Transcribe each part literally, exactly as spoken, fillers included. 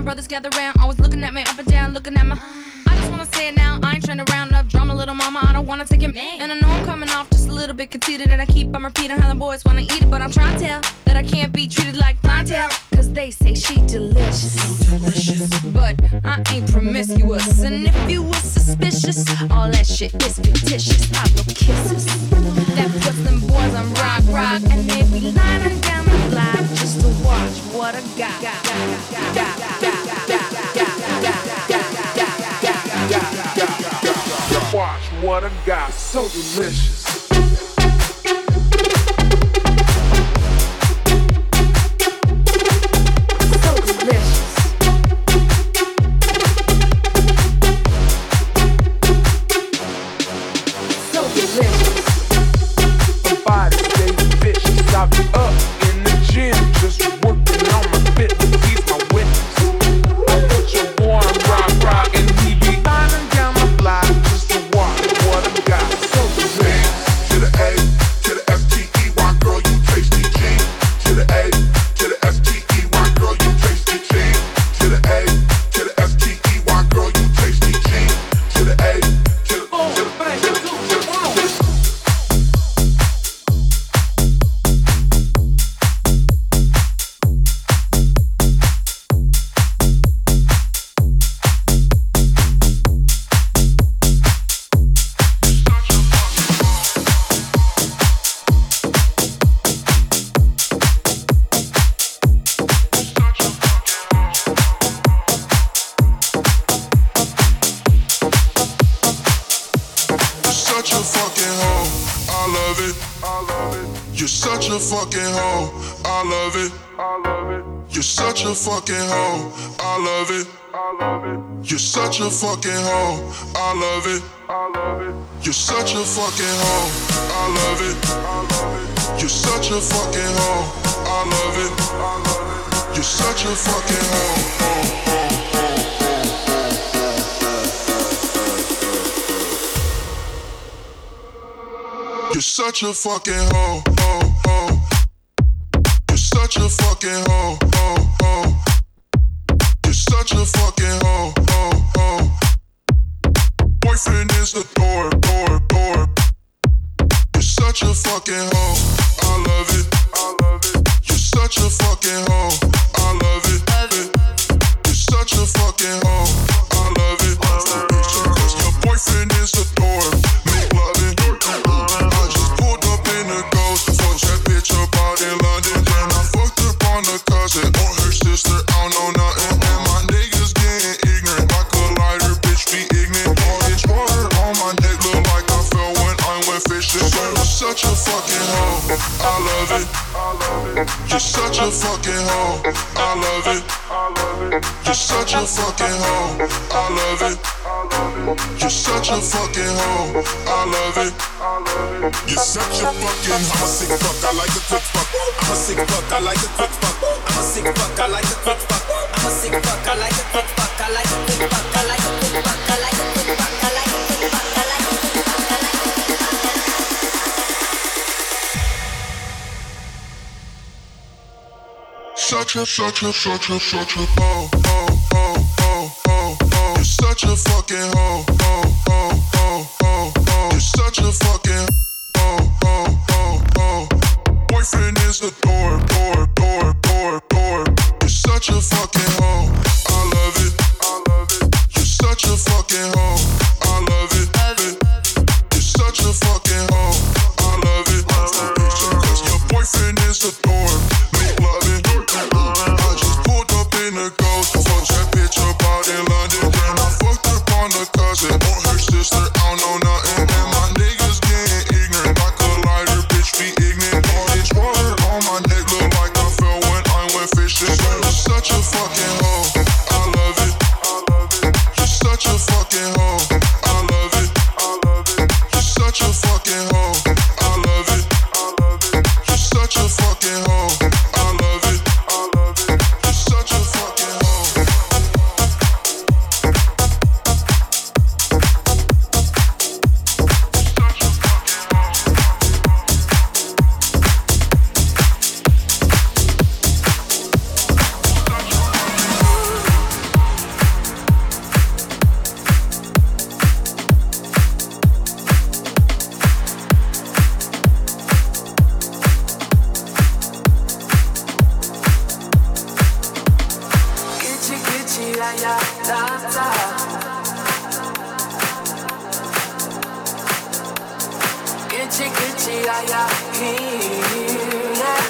brothers gather round, always looking at me up and down, looking at my. I just wanna say it now, I ain't trying to round up drama, little mama, I don't wanna take it. And I know I'm coming off just a little bit conceited, and I keep on repeating how the boys wanna eat it, but I'm trying to tell that I can't be treated like clientele, cause they say she delicious, delicious, but I ain't promiscuous, and if you was suspicious, all that shit is fictitious. I blow kisses, that puts them boys on rock, rock, and they be lining down the block just to watch what I got. got, got, got, got, got, got, Watch what I got, so delicious. So delicious. So delicious. My body stays vicious. I be up in the gym, just working on my fitness. He's my witness. I put your boy on rock, rock, and he be lining down my block just to watch what I got. So delicious. To the A, to the S T E Y, girl, you tasty G. To the A, to the S T E Y, girl, you tasty G. To the A, to the S T E Y, girl, you tasty G. To the A, to the Boom, to the bang, to the boom, to the boom. such a fucking hoe. I love it. I love it. You're such a fucking hoe. I love it. I love it. You're such a fucking hoe. I love it. I love it. You're such a fucking hoe. I love it. I love it. You're such a fucking hoe. I love it. I love it. You're such a fucking hoe. I love it. I love it. You're such a fucking hoe. You're such a fucking hoe, hoe, hoe. You're such a fucking hoe, hoe, hoe. You're such a fucking hoe, hoe, hoe. Boyfriend is the door, door, door. You're such a fucking hoe. I love it, I love it. You're such a fucking hoe. I love it, love it. You're such a fucking hoe. I love it, love it. Cause your boyfriend is the door. Make love it. Such a fucking hoe, I love it. You're such a fucking hoe, I love it. You're such a fucking hoe, I love it. You're such a fucking hoe, I love it. You're such a fucking, I'm a sick fuck, I like a quick fuck. I'm a sick fuck, I like a quick fuck. I'm a sick fuck, I like a quick fuck. I'm a sick fuck, I like a quick fuck. I like a quick fuck, I like a quick fuck. I like a quick fuck, I like a quick fuck. I like a quick fuck, I like a quick fuck. Such a, such a, such a, such a hoe, hoe, hoe, hoe, hoe, hoe. You're such a fucking hoe, hoe, hoe, hoe, hoe, hoe. You're such a fucking hoe, hoe, hoe, hoe. Boyfriend is the door, door, door, door, door. You're such a fucking hoe. I love it, I love it. You're such a fucking hoe. I love it, love it. You're such a fucking hoe. I love it, love it. Cause your boyfriend is the door. Make love it. I just pulled up in a ghost. Fucked that bitch up out in London. Then I fucked up on the cousin. On her sister, I don't know nothing. And my niggas getting ignorant. Like a lighter, bitch be ignorant. All this water on my neck look like I fell when I went fishing. You're such a fucking hoe. I love it. You're such a fucking hoe. I love it. You're such a fucking hoe. I love it. You're such a fucking hoe. I love it. You're such a fucking hoe. ya ya da da. Gitchy gitchy ya ya here, yeah.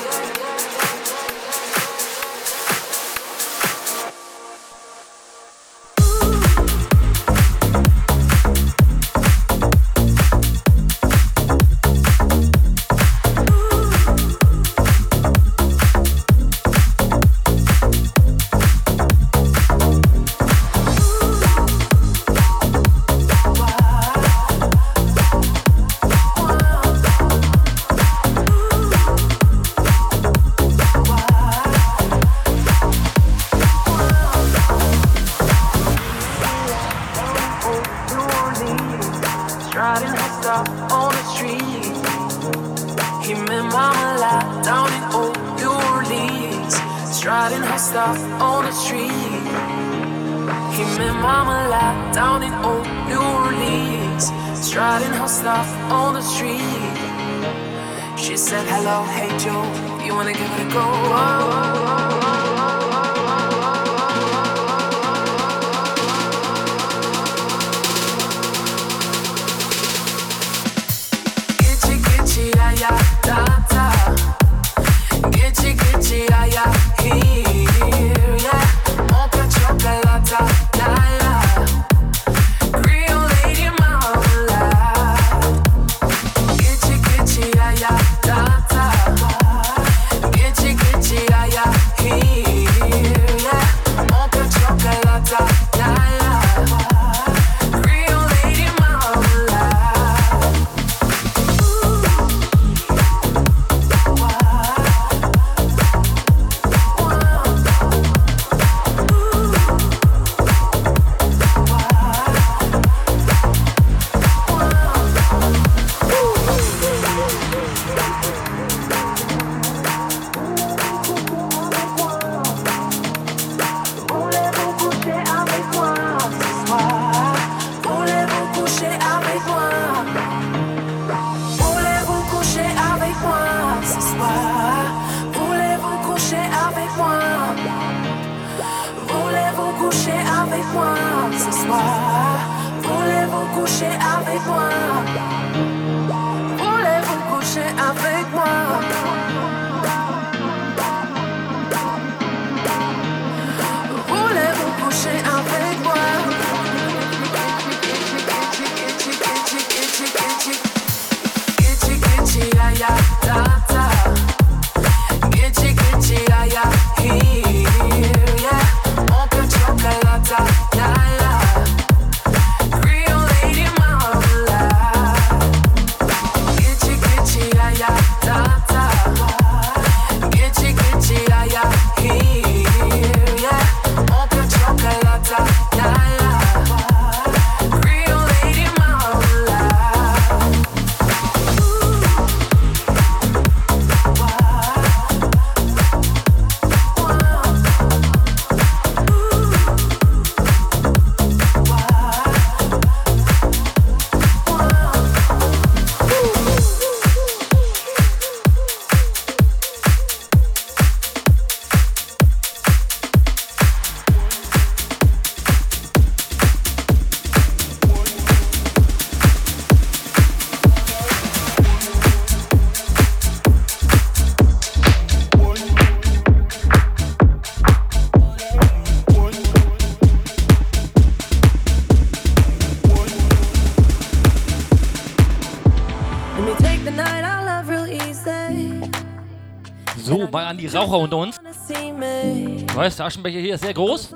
So, mal an die Raucher unter uns. Weißt, der Aschenbecher hier ist sehr groß,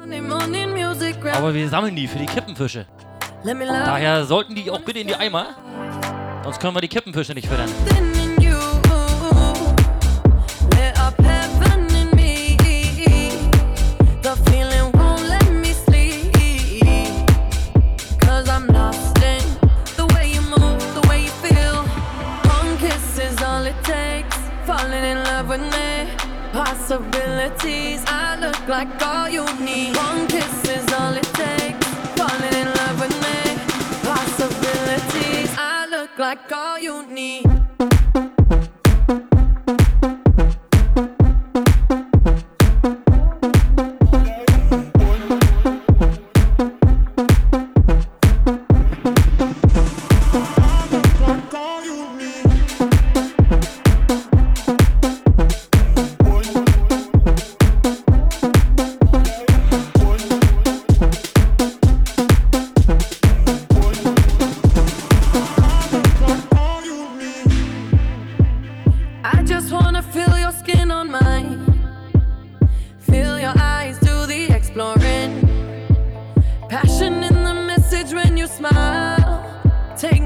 aber wir sammeln die für die Kippenfische. Daher sollten die auch bitte in die Eimer, sonst können wir die Kippenfische nicht füttern. Falling in love with me, possibilities. I look like all you need. One kiss is all it takes. Falling in love with me, possibilities. I look like all you need.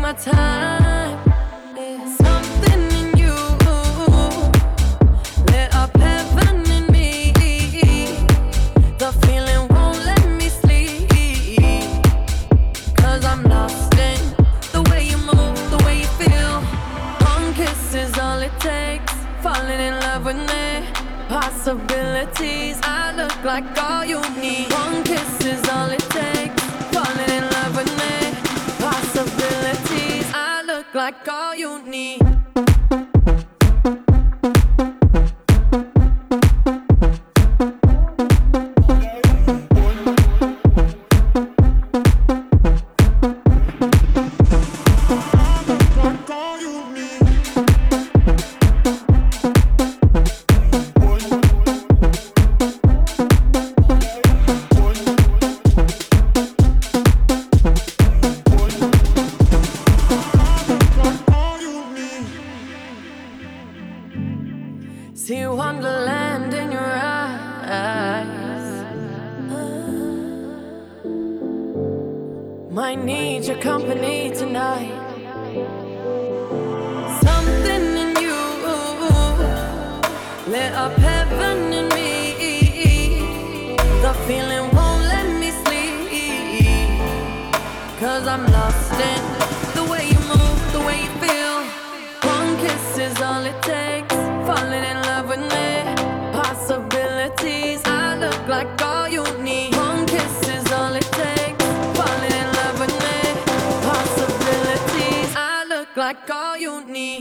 my time. There's something in you, lit up heaven in me. The feeling won't let me sleep, 'cause I'm lost in the way you move, the way you feel. One kiss is all it takes, falling in love with me. Possibilities, I look like all you need. One kiss is all it takes, falling in love with me. Possibilities, I look like all you need. See wonderland in your eyes. Might need your company tonight. Something in you lit up heaven in me. The feeling won't let me sleep, 'cause I'm lost in the way you move, the way you feel. One kiss is all it takes, falling in love with me. Possibilities, I look like all you need. One kiss is all it takes, falling in love with me. Possibilities, I look like all you need.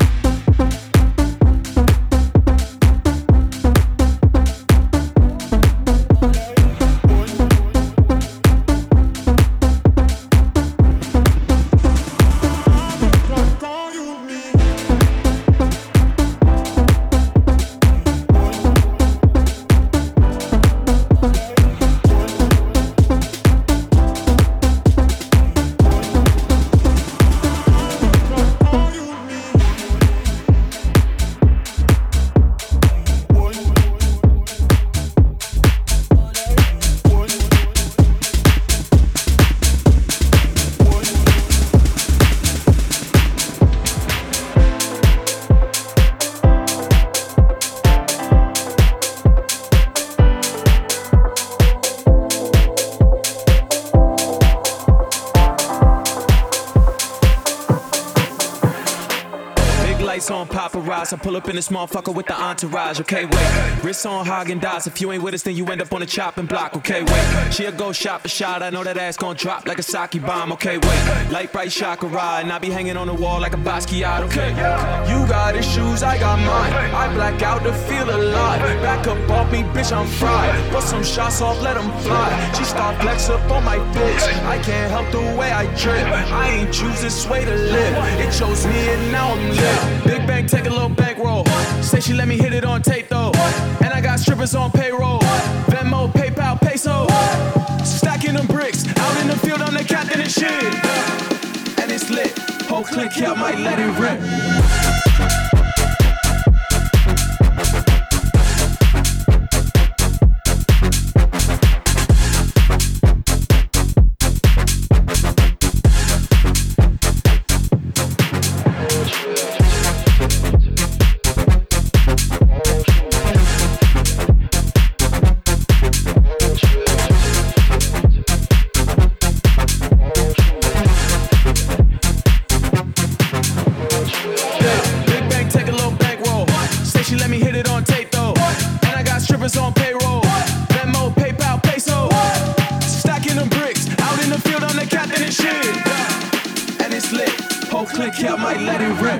On paparazzi, I pull up in this motherfucker with the entourage. Okay, wait. Wrists on Haagen-Dazs. If you ain't with us, then you end up on the chopping block. Okay, wait. She'll go shot for shot. I know that ass gon' drop like a sake bomb. Okay, wait. Light bright chakra, and I be hanging on the wall like a Basquiat. Okay. You got issues, I got mine. I black out to feel alive. Back up off me, bitch, I'm fried. Put some shots off, let them fly. She start flex up on my bitch. I can't help the way I trip. I ain't choose this way to live. It chose me and now I'm lit. Big Bang, take a little bankroll. Say she let me hit it on tape though. And I got strippers on payroll. Venmo, PayPal, peso. Stacking them bricks. Out in the field, I'm the captain and shit. And it's lit. Whole click here, I might let it rip. On payroll, Venmo, PayPal, peso. Stacking them bricks. Out in the field, I'm the captain and shit. And it's lit. Whole click here, I might let it rip.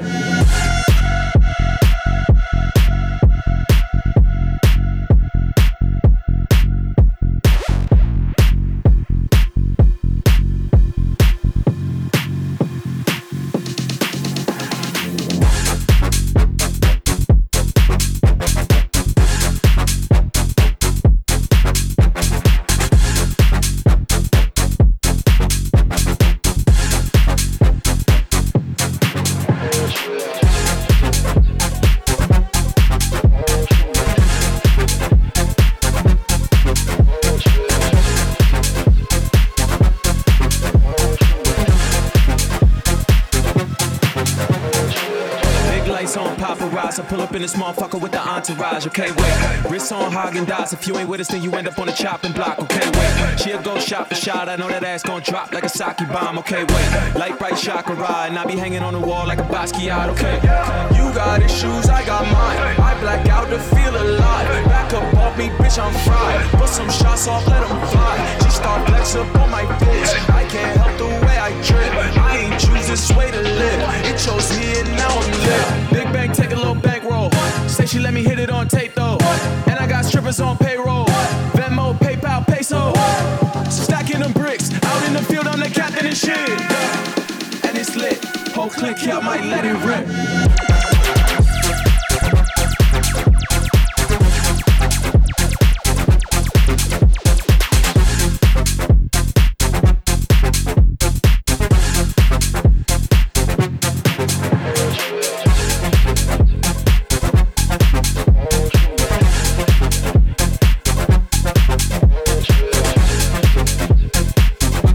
in this motherfucker with the entourage, okay, wait. Wrist on Haagen-Dazs, if you ain't with us, then you end up on the chopping block, okay, wait. She'll go shot for shot, I know that ass gon' drop like a sake bomb, okay, wait. Light bright chakra ride, and I be hanging on the wall like a Basquiat, okay. You got issues, I got mine. I black out to feel alive. Back up off me, bitch, I'm fried. Put some shots off, let them fly. She start flex up on my bitch. I can't help the way I drip. I ain't choose this way to live. It chose me and now I'm lit. Big Bang, take a little bankroll. Say she let me hit it on tape though. And I got strippers on payroll. Venmo, PayPal, peso. Stacking them bricks. Out in the field, I'm the captain and shit. And it's lit. Whole click here, I might let it rip.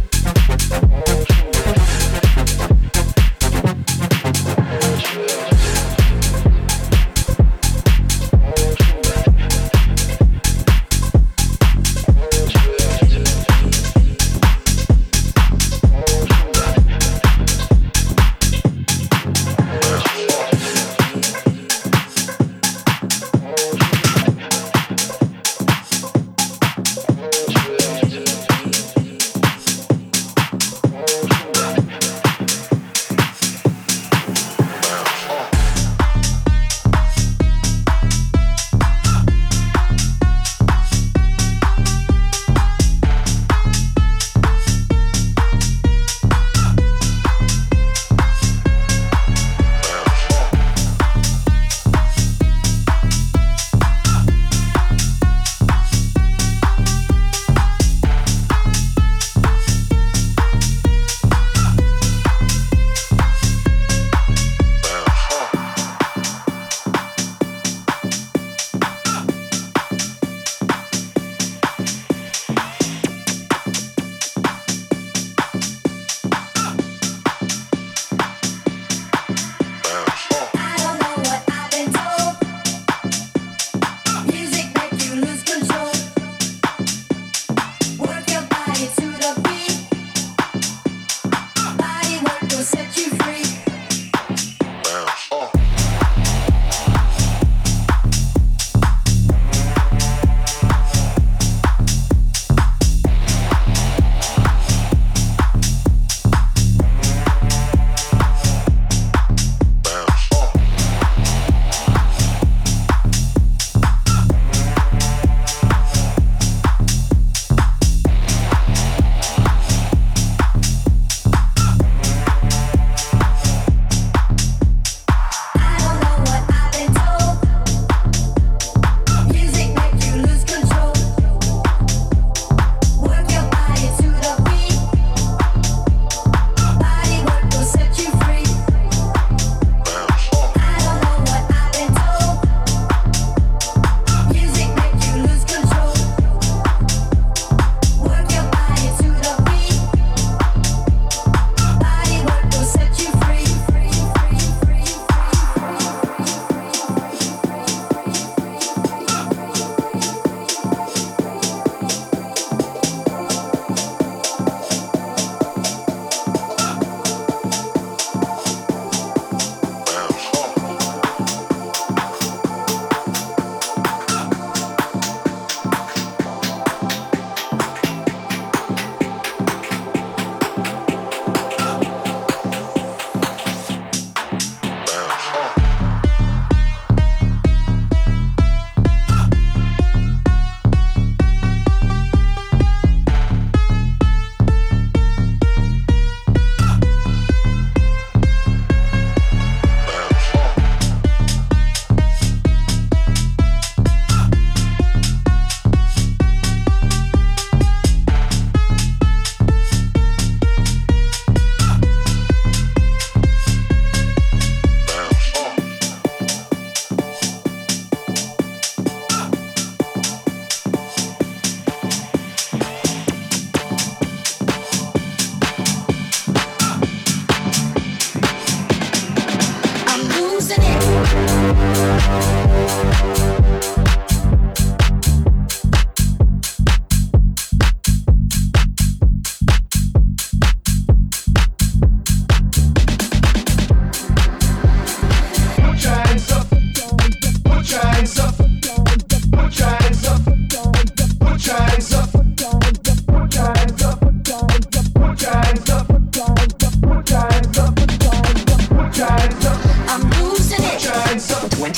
Yeah.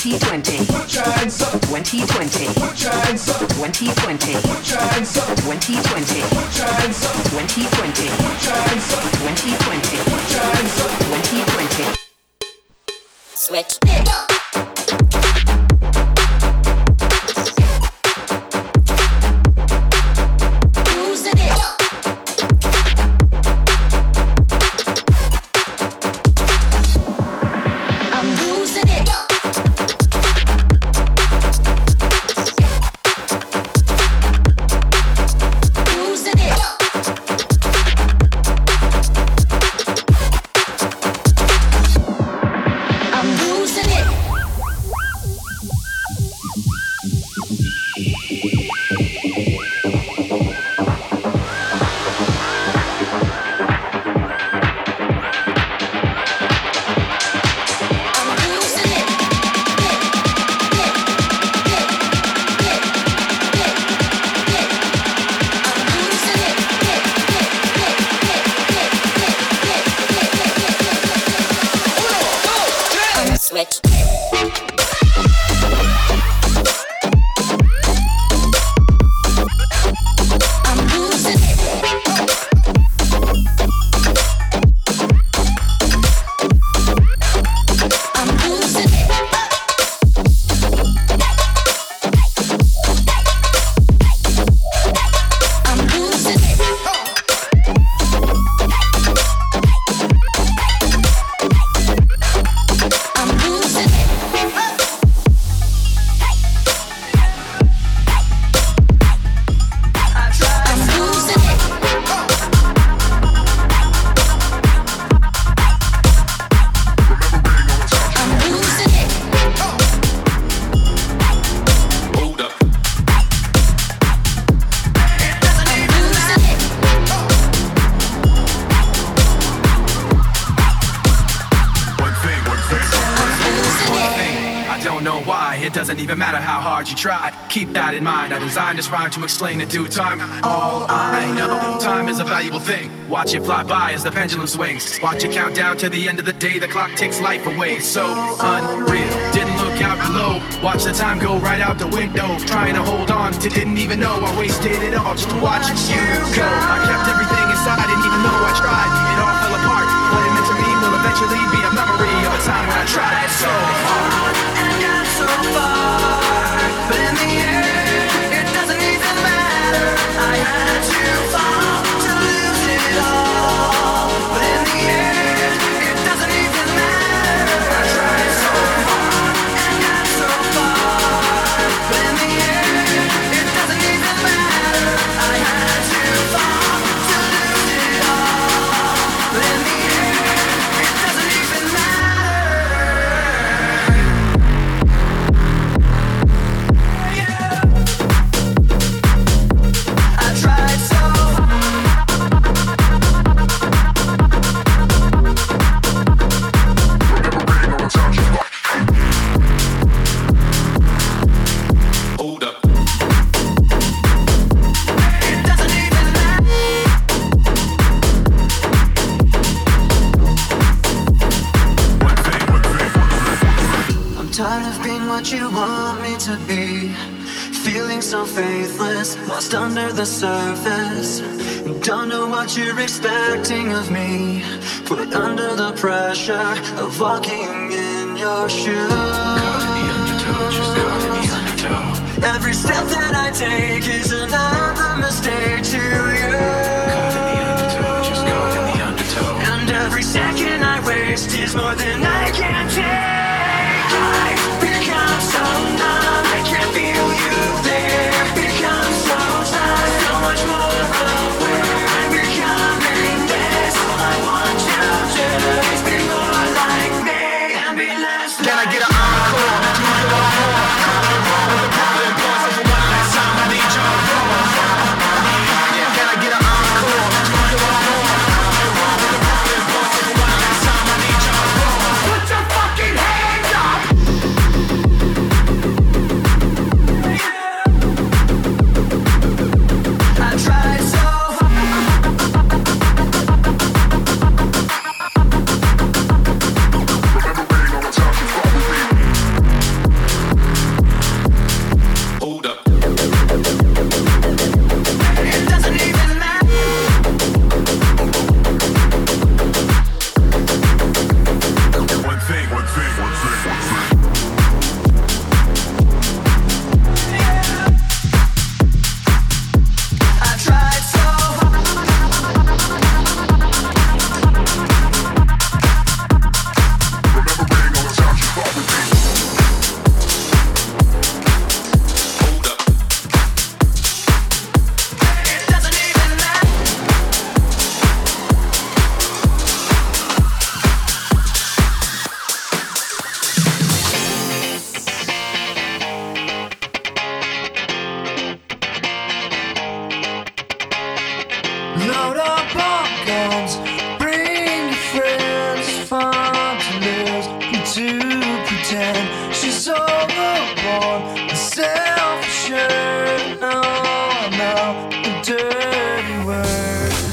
twenty twenty, twenty twenty, twenty twenty, twenty twenty, twenty twenty, twenty twenty, twenty twenty. Switch it up. Keep that in mind. I designed this rhyme to explain in due time. All I know, time is a valuable thing. Watch it fly by as the pendulum swings. Watch it count down to the end of the day. The clock takes life away. So unreal. Didn't look out below. Watch the time go right out the window. Trying to hold on to didn't even know I wasted it all just to watch you go. I kept everything inside, didn't even know I tried. It all fell apart. What it meant to me will eventually be a memory of a time when I tried so hard and got so far. But in the end, it doesn't even matter. I had to fall to lose it all. But in the end, it doesn't even matter. I tried so hard and got so far. But in the end, it doesn't even matter. I had to fall to lose it all. But in the end, it doesn't even matter. What you want me to be, feeling so faithless, lost under the surface. Don't know what you're expecting of me, put under the pressure of walking in your shoes. Caught in the undertow, just caught in the undertow. Every step that I take is another mistake to you. Caught in the undertow, just caught in the undertow. And every second I waste is more than I can take. I've become so numb, I can't feel you there. Become so tired, so much more aware. I'm becoming this, all I want to do is be more like me and be less like. Can I get an encore? With the problem boys, for one last time I need your applause. Can I get an encore? With the problem boys, for one last time I need your applause. Load up our guns, bring your friends. It's fun to lose and to pretend. She's overboard and self-assured. No, I know the dirty word.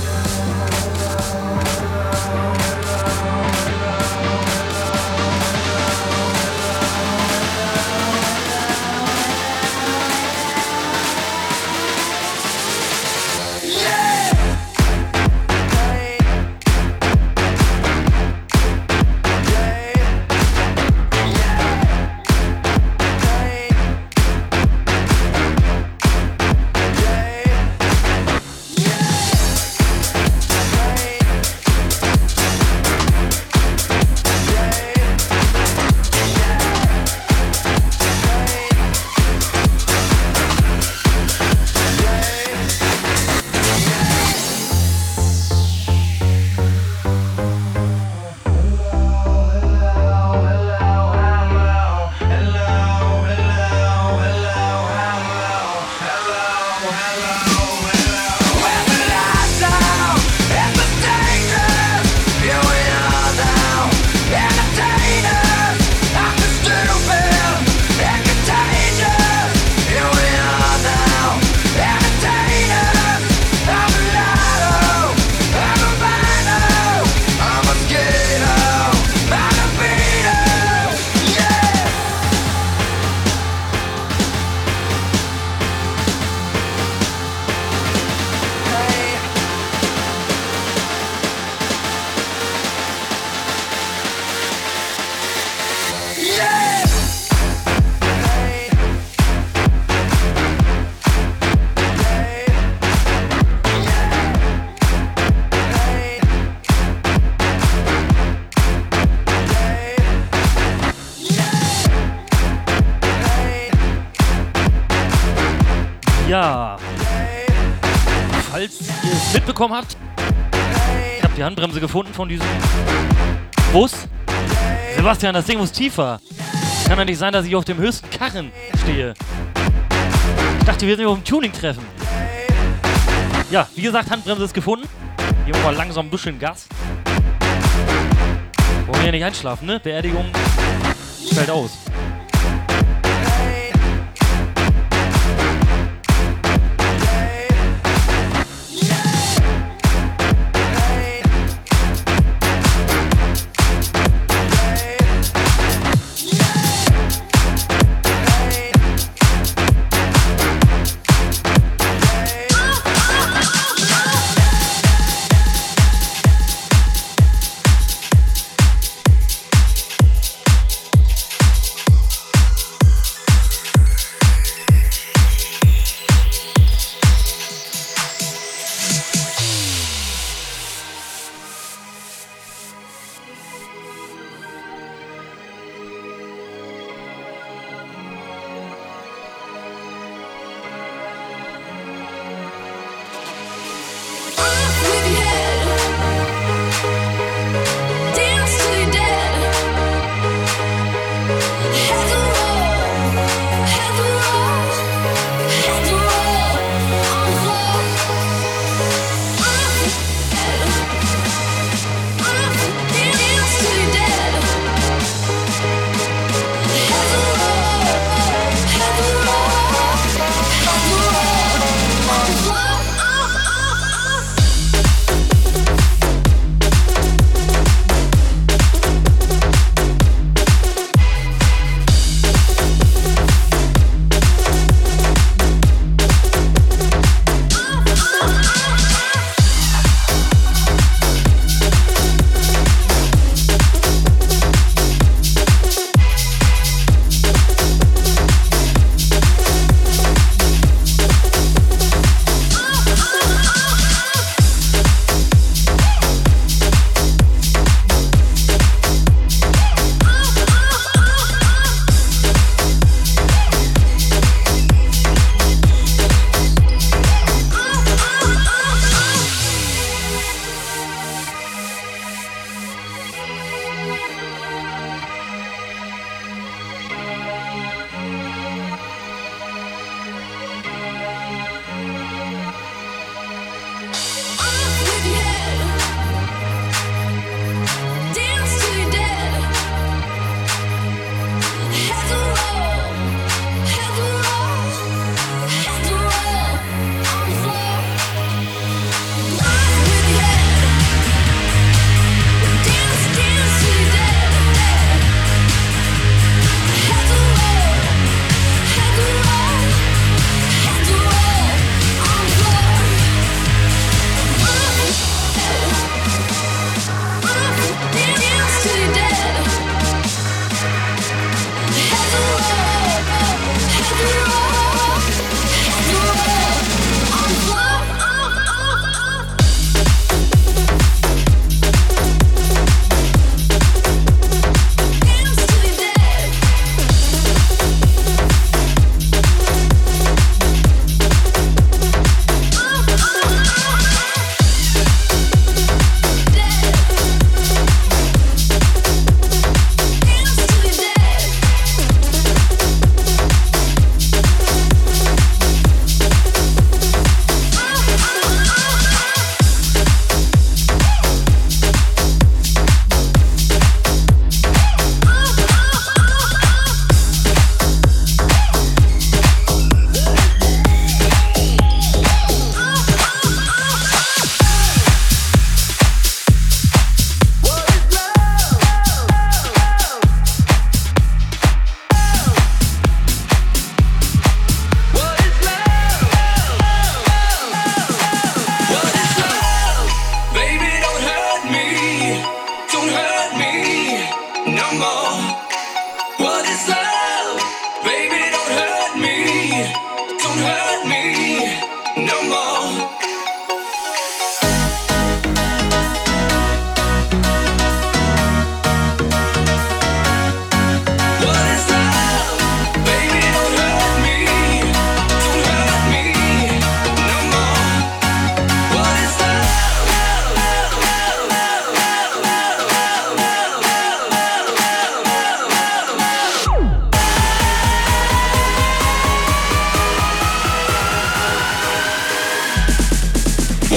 Ja, falls ihr es mitbekommen habt, ich habe die Handbremse gefunden von diesem Bus. Sebastian, das Ding muss tiefer. Kann doch nicht sein, dass ich auf dem höchsten Karren stehe. Ich dachte, wir sind auf dem Tuning-Treffen. Ja, wie gesagt, Handbremse ist gefunden. Gehen wir mal langsam ein bisschen Gas. Wollen wir hier nicht einschlafen, ne? Beerdigung fällt aus.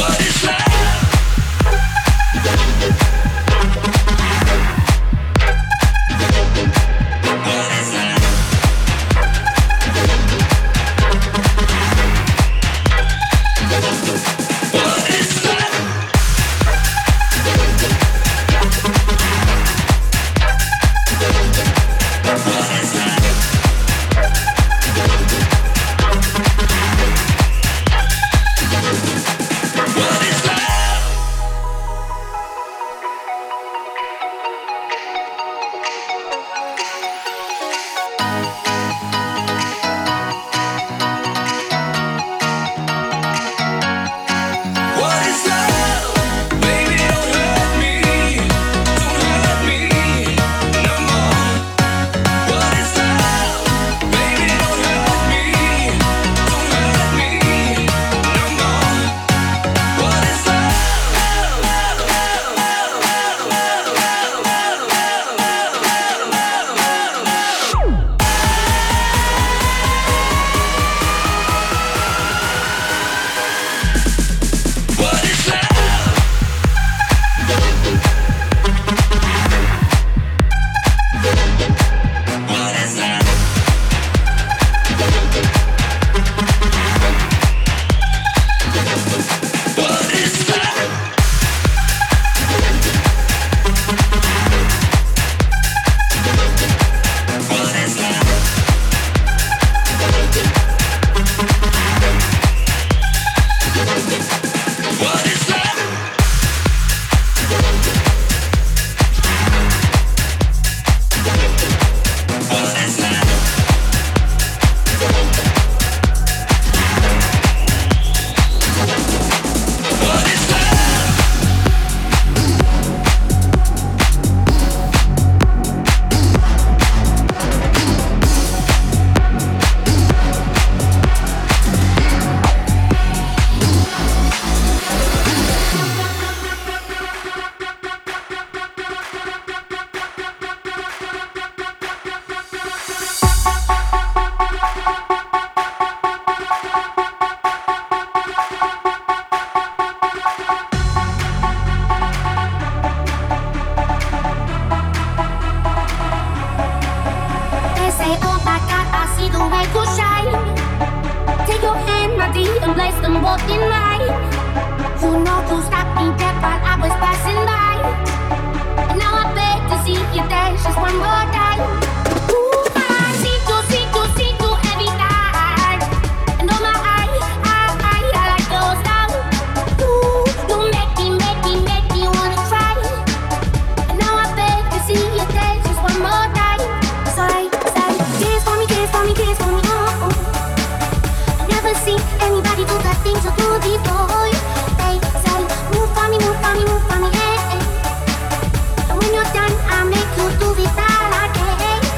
When you're done, I'll make you do it all again.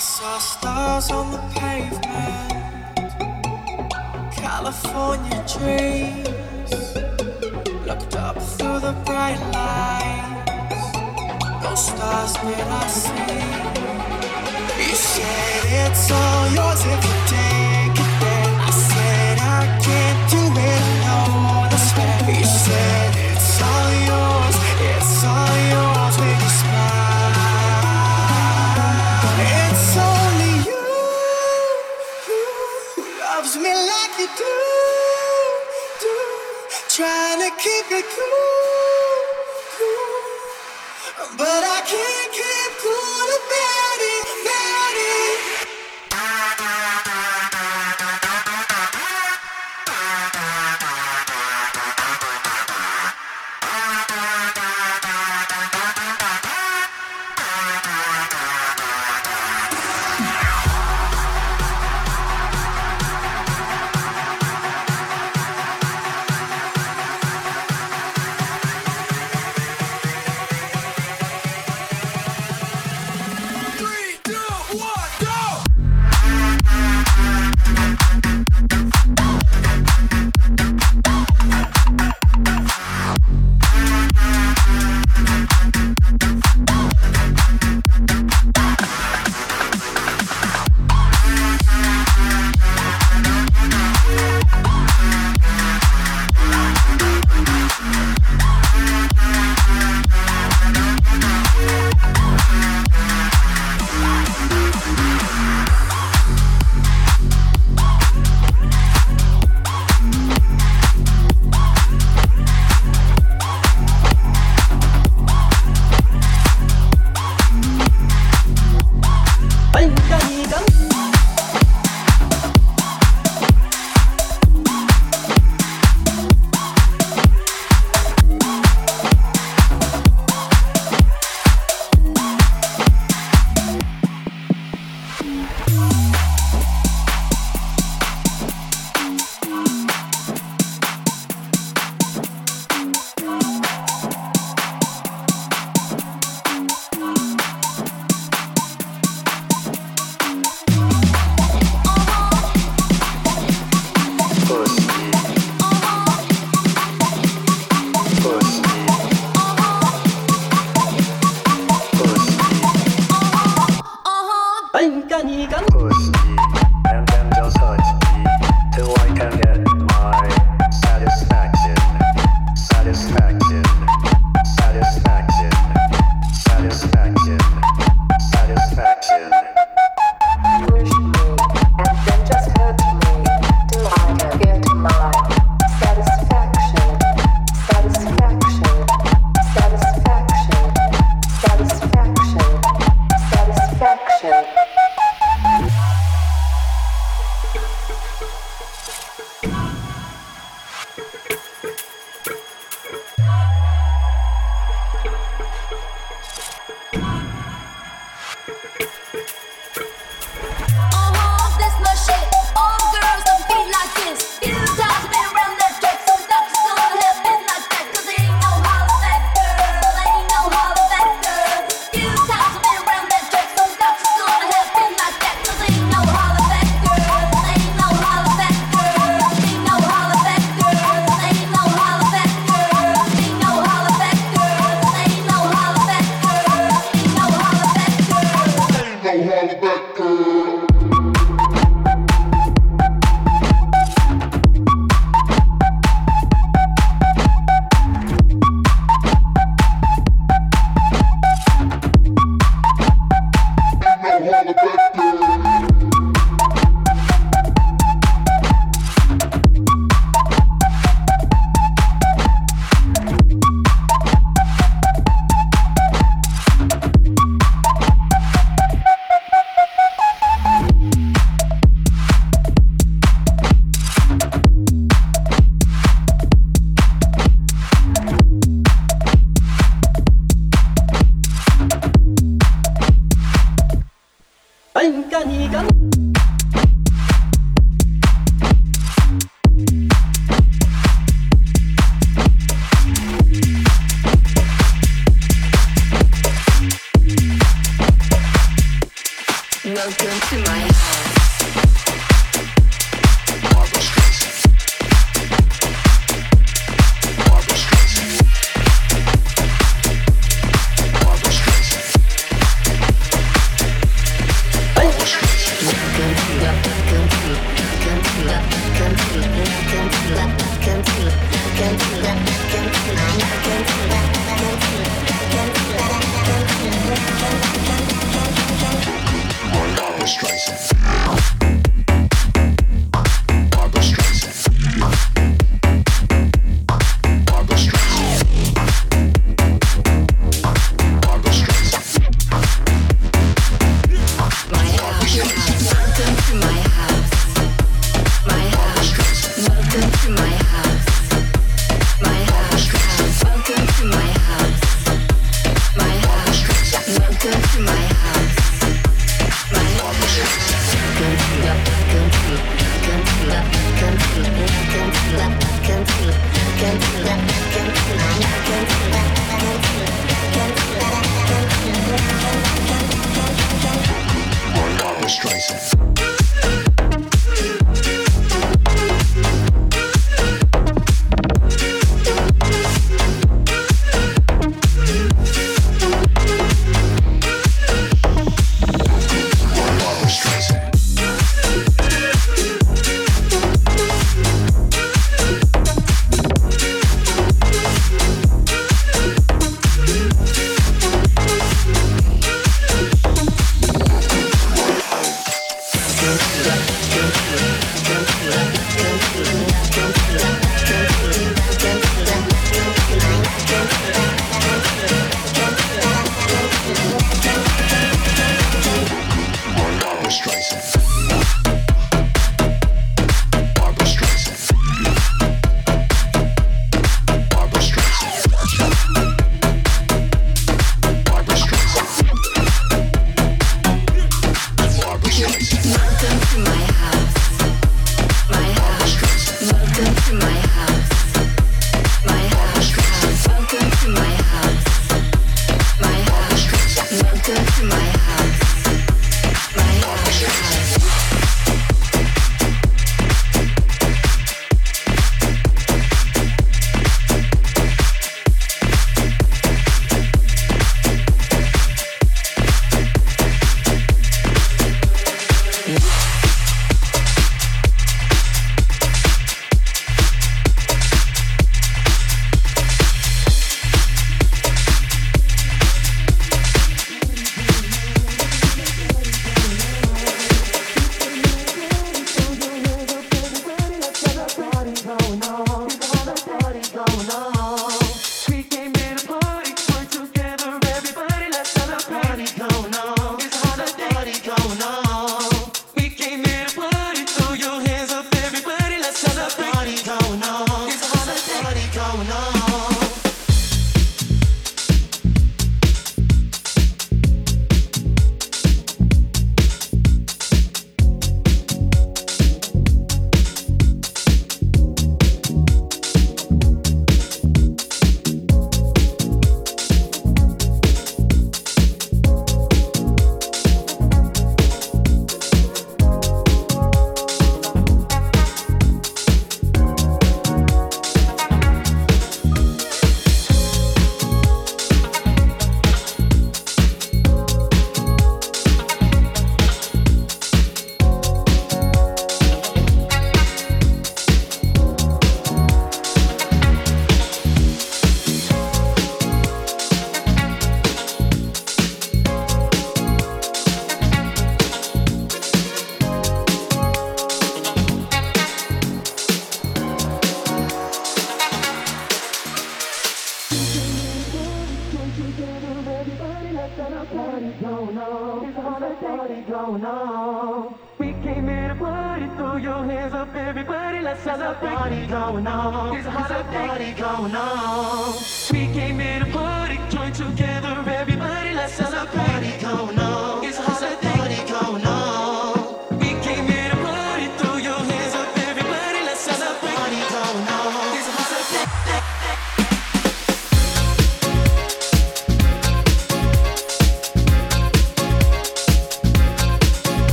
saw stars on the pavement, California dreams. Looked up through the bright lights, no stars did I see. You said it's all yours if you take it there. I said I can't do it alone, I swear. You said it's all yours, it's all yours when you smile. It's only you who loves me like you do, do. Trying to keep it cool, cool. But I can't keep cool about it, about it.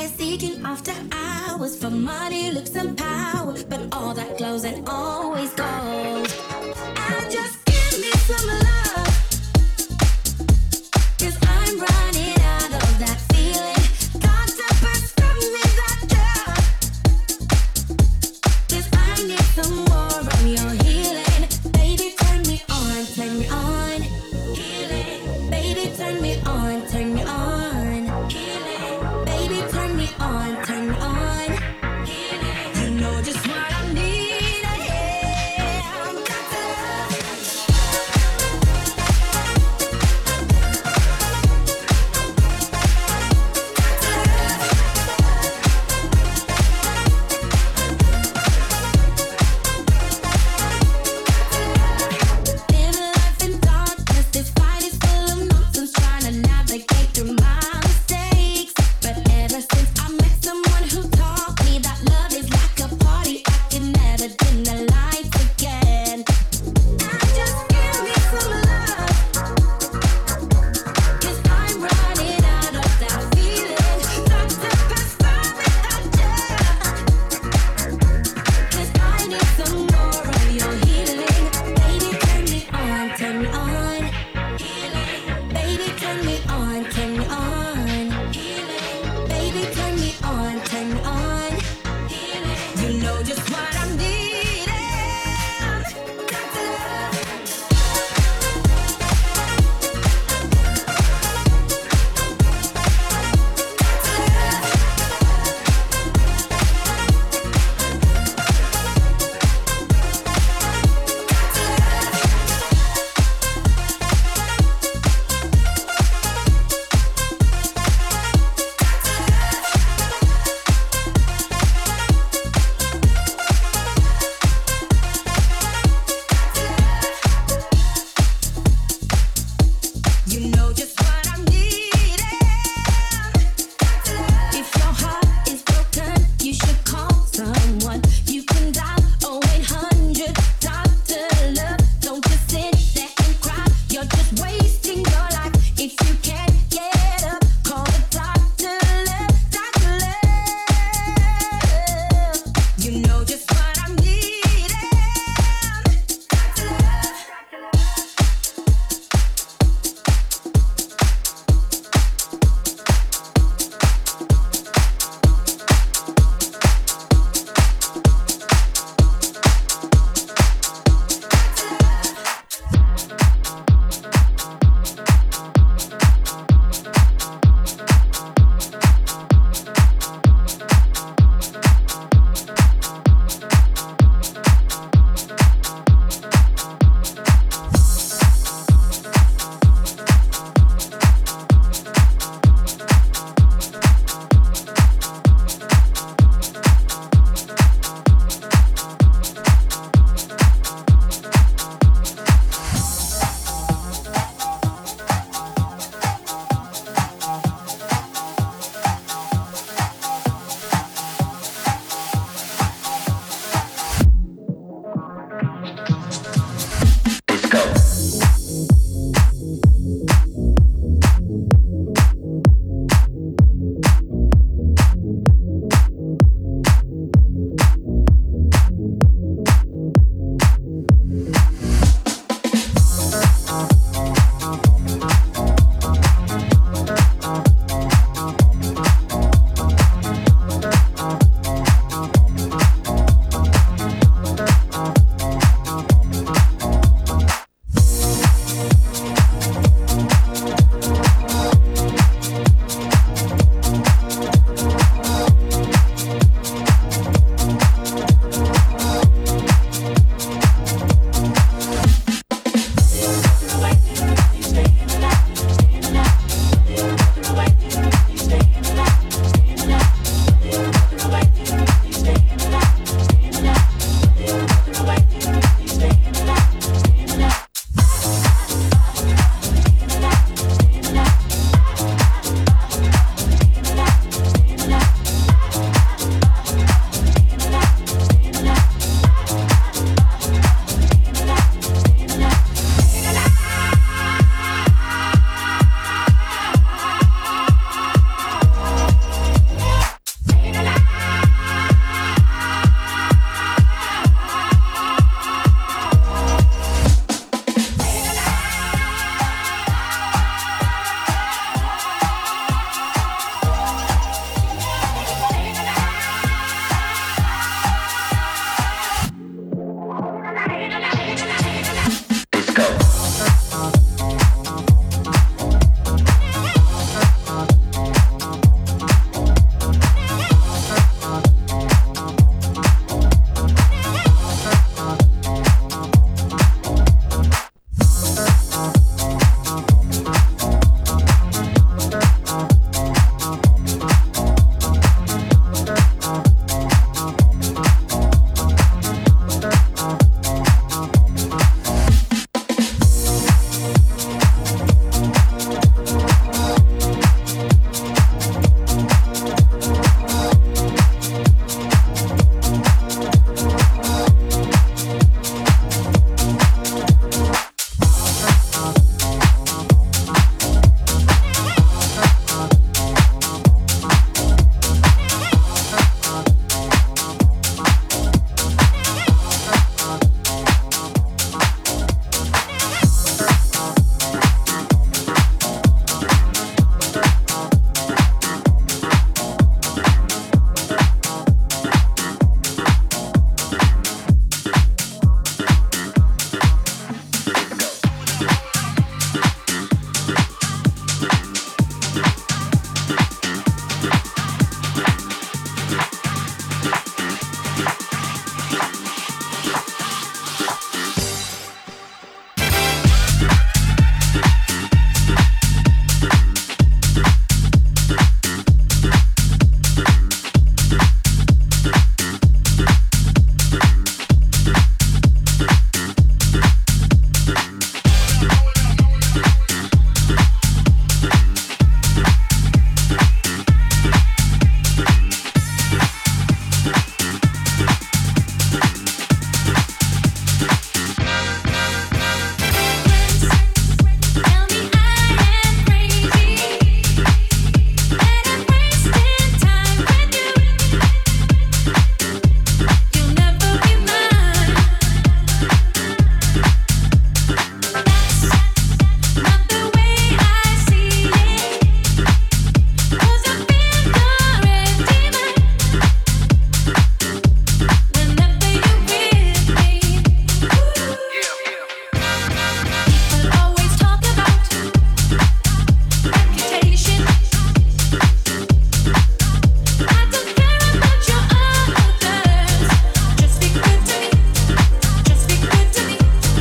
always seeking after hours for money, looks, and power. But all that glows and always goes. And just give me some love.